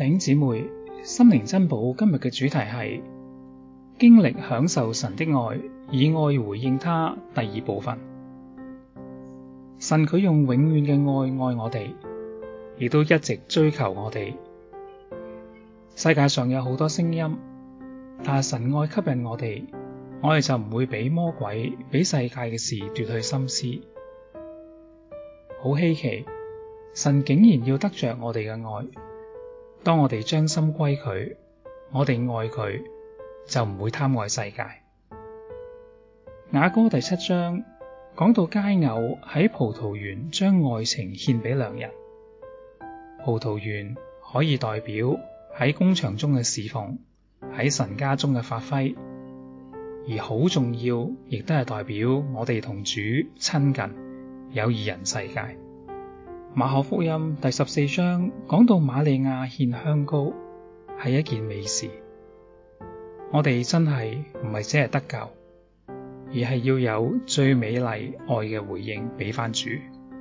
弟兄姊妹，心靈珍寶今日嘅主題係經歷享受神的愛，以愛回應他。第二部分，神佢用永遠嘅愛我哋，亦都一直追求我哋。世界上有好多聲音，但係神愛吸引我哋就唔會俾魔鬼、俾世界嘅事奪去心思。好稀奇，神竟然要得着我哋嘅愛。當我哋將心歸佢，我哋愛佢，就唔會貪愛世界。雅歌第7章講到佳偶喺葡萄園將愛情獻俾良人。葡萄園可以代表喺工場中嘅侍奉，喺神家中嘅發揮，而好重要，亦都係代表我哋同主親近，有二人世界。馬可福音第14章講到瑪利亞獻香膏係一件美事。我哋真係唔係只係得救，而係要有最美麗愛嘅回應俾返主。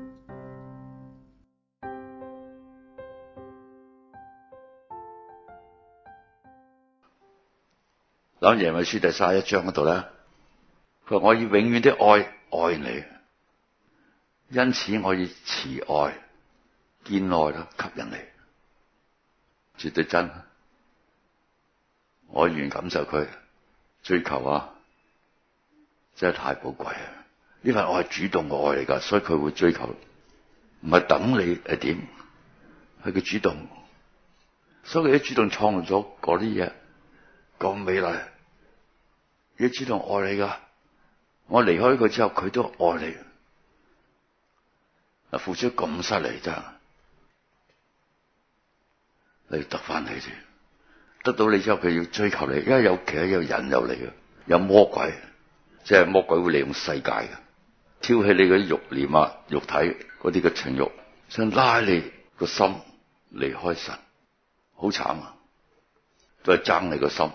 諗耶利米書第31章嗰度咧，佢話我以永遠的愛愛你，因此我以慈愛堅愛啦吸引你，絕對真。我願感受佢追求啊，真係太寶貴啊！呢份愛係主動嘅愛嚟噶，所以佢會追求，唔係等你係點，係佢主動，所以佢都主動創造咗嗰啲嘢咁美麗，佢主動愛你噶。我離開佢之後，佢都愛你，啊，付出咁犀利真係，你得翻你先。得到你之後，佢要追求你，因為其實有人有嚟嘅，有魔鬼，即係魔鬼會利用世界嘅，挑起你嗰啲慾念啊、肉體嗰啲嘅情慾，想拉你個心離開神，好慘啊！都係爭你個心，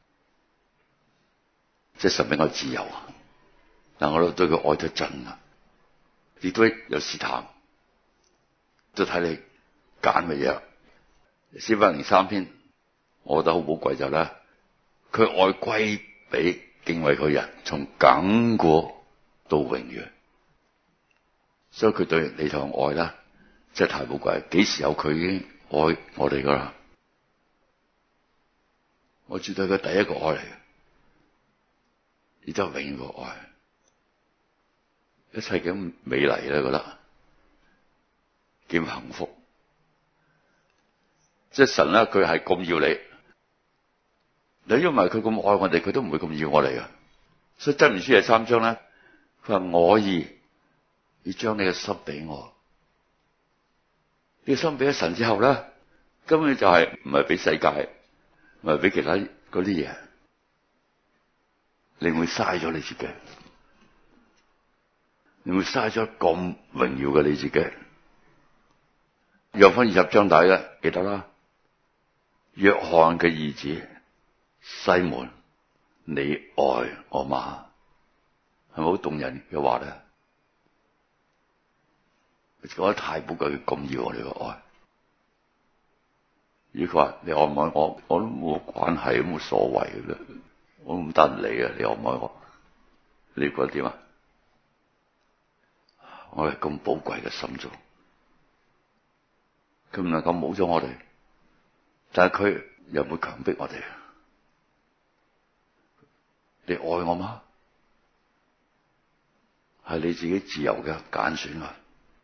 即係神俾我自由啊！但我都對佢愛得真啊，亦都有試探，都睇你揀乜嘢。詩篇103篇。我覺得好寶貴就咧，佢愛歸俾敬畏佢人，從亙古到永遠，所以佢對你同愛咧，真係太寶貴。幾時有佢已經愛我哋噶啦？我絕對係佢第一個愛嚟嘅，亦都係永遠個愛，一切咁美麗咧，覺得幾幸福。即係神咧，佢係咁要你。你因為佢咁愛我哋，佢都唔會咁要我哋噶。所以箴言書第3章咧，佢話我要將你嘅心俾我。呢個心俾咗神之後咧，根本就係唔係俾世界，唔係俾其他嗰啲嘢，你會嘥咗你自己，你會嘥咗咁榮耀嘅你自己。約翰20章底嘅記得啦，約翰嘅兒子。西門，你愛我嗎？係咪好動人嘅話咧？佢講得太寶貴，咁要我哋嘅愛。如果佢話你愛唔愛我，我都冇關係，都冇所謂嘅啦，我唔得你啊！你愛唔愛我？你覺得點啊？我係咁寶貴嘅心中，佢唔能夠冇咗我哋，但係佢又唔會強迫我哋。你愛我嗎？係你自己自由嘅揀選啊！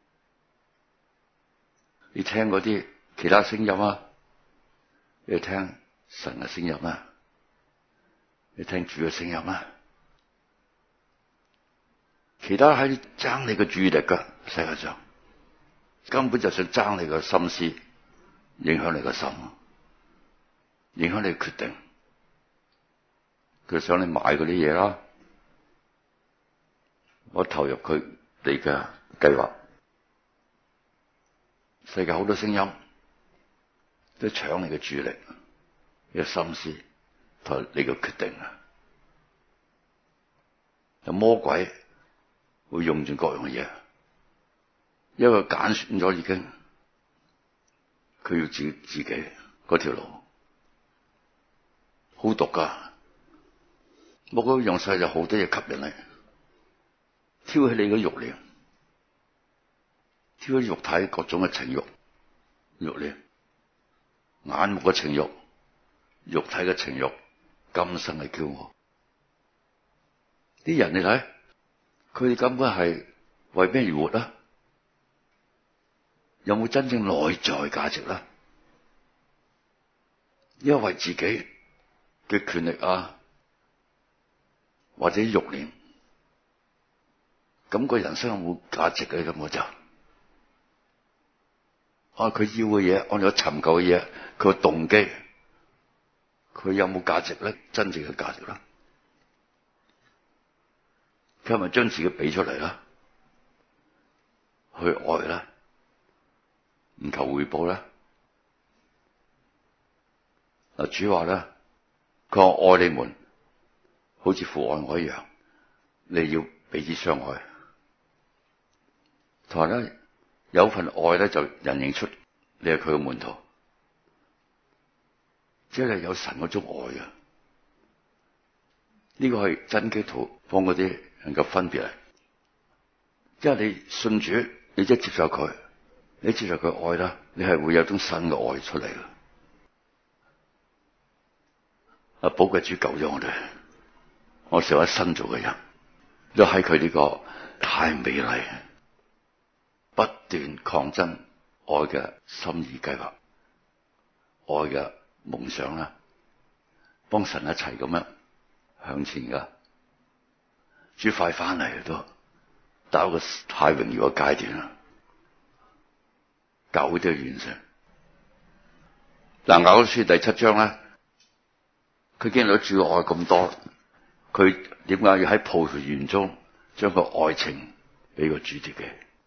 你聽嗰啲其他聲音啊，你聽神嘅聲音啊，你聽主嘅聲音啊，其他喺爭你嘅注意力噶，世界上根本就想爭你嘅心思，影響你嘅心，影響你嘅決定。佢想你買嗰啲嘢啦，我投入佢哋嘅計劃。世界好多聲音都搶你嘅注意力、你嘅心思同你嘅決定啊！有魔鬼會用盡各樣嘅嘢，因為揀選咗已經，佢要自己嗰嗰條路，好毒噶。魔鬼用晒就好多嘢吸引你，挑起你嘅慾念，挑起肉體各種嘅情慾、慾念、眼目嘅情慾、肉體嘅情慾、今生嘅驕傲。啲人你睇，佢哋根本係為咩而活啊？有冇真正內在價值啦？因為自己嘅權力啊，或者慾念，咁個人生有冇價值嘅？咁我就佢要嘅嘢，按咗尋求嘅嘢，佢個動機，佢有冇價值咧？真正嘅價值啦，佢係咪將自己俾出嚟啦？去愛啦，唔求回報啦。嗱，主話咧，佢話愛你們，好似父愛我一樣，你要彼此相愛。同埋咧，有份愛咧，就人認出你係佢嘅門徒，即係有神嗰種愛嘅。呢個係真基督徒幫嗰啲能夠分別嚟，即係你信主，你即係接受佢，你接受佢愛啦，你係會有種新嘅愛出嚟嘅。寶貴主救咗我哋，我成為新造嘅人，都喺佢呢個太美麗、不斷抗爭愛嘅心意計劃、愛嘅夢想啦，幫神一齊咁樣向前噶。主快翻嚟都到一個太榮耀嘅階段啦，教會都要完成。嗱，雅歌書第7章咧，佢見到主嘅愛咁多，佢點解要喺葡萄園中將個愛情俾個主自己？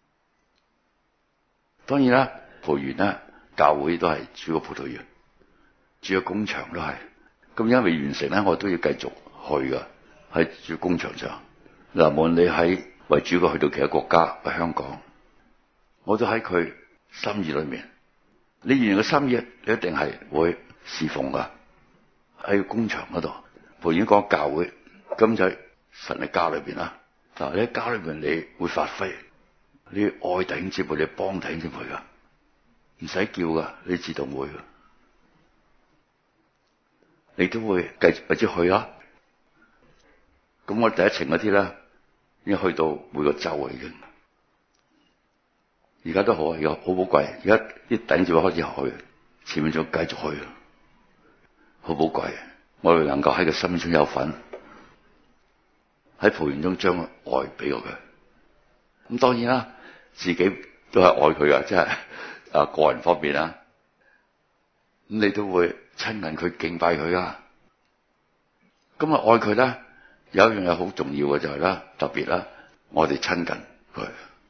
當然啦，葡萄園咧，教會都係主嘅葡萄園，主嘅工場都係。咁因為完成咧，我都要繼續去噶，喺主工場上。嗱，無論你喺為主嘅去到其他國家，喺香港，我都喺佢心意裏面。你完成個心意，你一定係會侍奉噶。喺工場嗰度，葡萄園講教會，咁就喺神嘅家裏邊啦。嗱，你喺家裏邊，你會發揮，你愛弟兄姊妹，你幫弟兄姊妹噶，唔使叫噶，你自動會噶，你都會繼續或者去啦。咁我第一程嗰啲咧，已經去到每個州啊，已經。而家都好，而家好寶貴。而家啲弟兄姊妹開始去，前面仲繼續去，好寶貴。我哋能夠喺佢心中有份，喺葡萄園中將愛俾過佢。咁當然啦，自己都係愛佢噶，即係個人方面啦。咁你都會親近佢、敬拜佢噶。咁啊，愛佢咧，有一樣嘢好重要嘅就係啦，特別啦，我哋親近佢，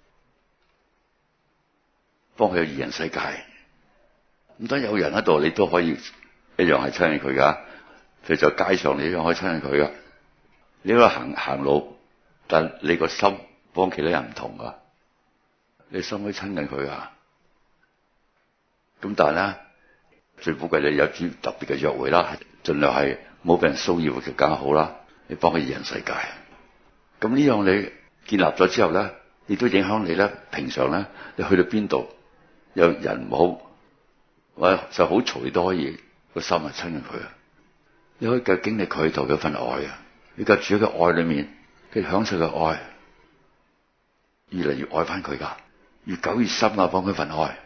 幫佢有二人世界。咁當有人喺度，你都可以一樣係親近佢噶。譬如在街上，你一樣可以親近佢噶。你喺度行路，但你個心幫其他人唔同噶，你心可以親近佢噶。咁但係咧，最寶貴你有啲特別嘅約會啦，盡量係冇俾人騷擾就更加好啦。你幫佢二人世界。咁呢樣你建立咗之後咧，亦都影響你咧。平常咧，你去到邊度有人唔好，或者就好嘈，你都可以個心係親近佢啊。你可以繼續經歷佢度嘅份愛啊！你繼續住喺佢愛裏面，繼續享受佢愛，越嚟越愛翻佢噶，越久越深啊！幫佢份愛。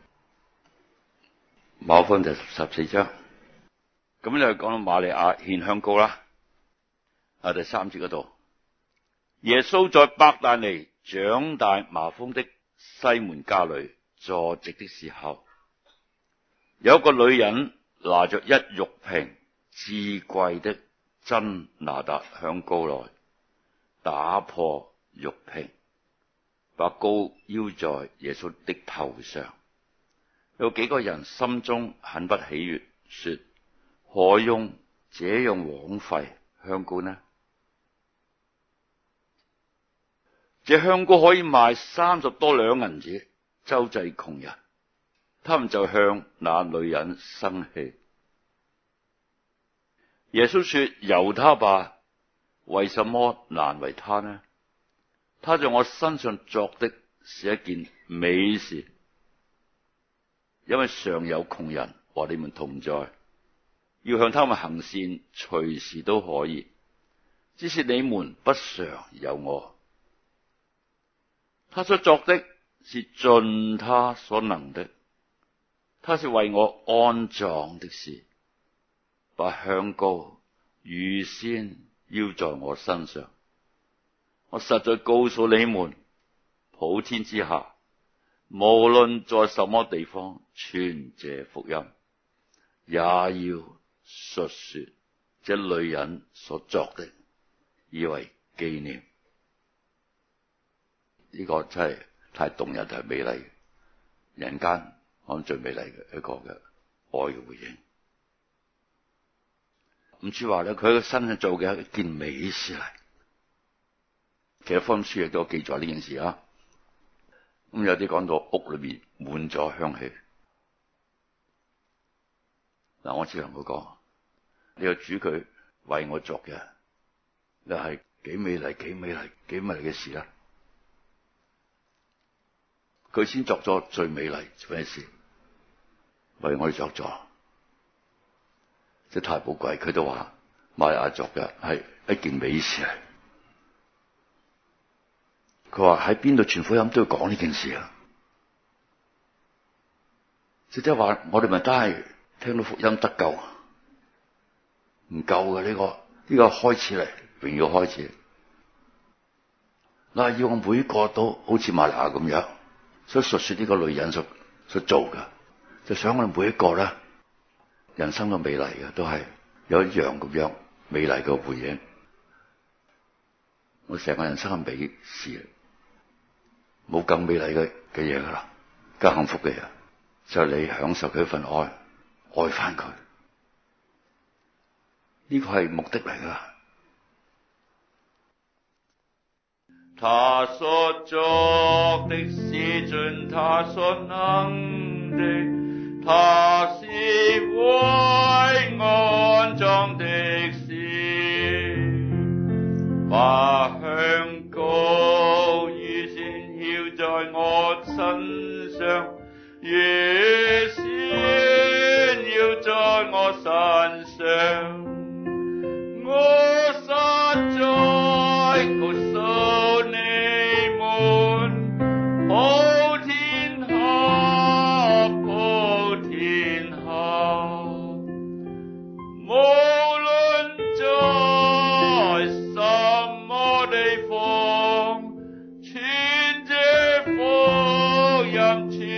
馬可福音就14章，咁你就講到瑪利亞獻香膏啦。第3節嗰度，耶穌在伯大尼長大麻風的西門家裡坐席的時候，有一個女人拿着一玉瓶至貴的真哪噠香膏來，打破玉瓶，把膏澆在耶穌的頭上。有幾個人心中很不喜悅，說：何用這樣枉費香膏呢？這香膏可以賣30多兩銀子，周濟窮人。 他們就向那女人生氣。耶穌說：由他吧，為什麼難為他呢？他在我身上作的是一件美事，因為常有窮人和你們同在，要向他們行善，隨時都可以，只是你們不常有我。他所作的是盡他所能的，他是為我安葬的事，把香膏預先澆在我身上。我實在告訴你們，普天之下，無論在什麼地方傳這福音，也要述說這女人所作的，以為紀念。呢個真係太動人，太美麗，人間我諗最美麗嘅一個嘅愛嘅回應。唔似話咧，佢喺佢身上做嘅一件美事嚟。其實福音書亦都記載呢件事啊。咁有啲講到屋裏面滿咗香氣。嗱，我只能夠講，呢個主佢為我作嘅，又係幾美麗、幾美麗、幾美麗嘅事啦。佢先作咗最美麗嘅事，為我哋作咗，即係太寶貴。佢都話瑪利亞作嘅係一件美事嚟。佢話喺邊度傳福音都要講呢件事啊！即係話我哋咪真係聽到福音得救，唔夠嘅呢個開始嚟，榮耀開始。嗱，要我每個都好似瑪利亞咁樣，所以述說呢個女人所做嘅，就想我哋每一個咧，人生都美麗嘅，都係有一樣咁樣美麗嘅回應。我成個人生係美事，冇更美麗嘅嘢噶啦，更幸福嘅嘢就係你享受佢一份愛翻佢，呢個係目的嚟噶。他所作的是盡他所能的，他是為安葬的事，把香膏預先澆在我身上，預先澆在我身上。我實在告訴你們，普天下，普天下，無論在什麼地方，傳這福音，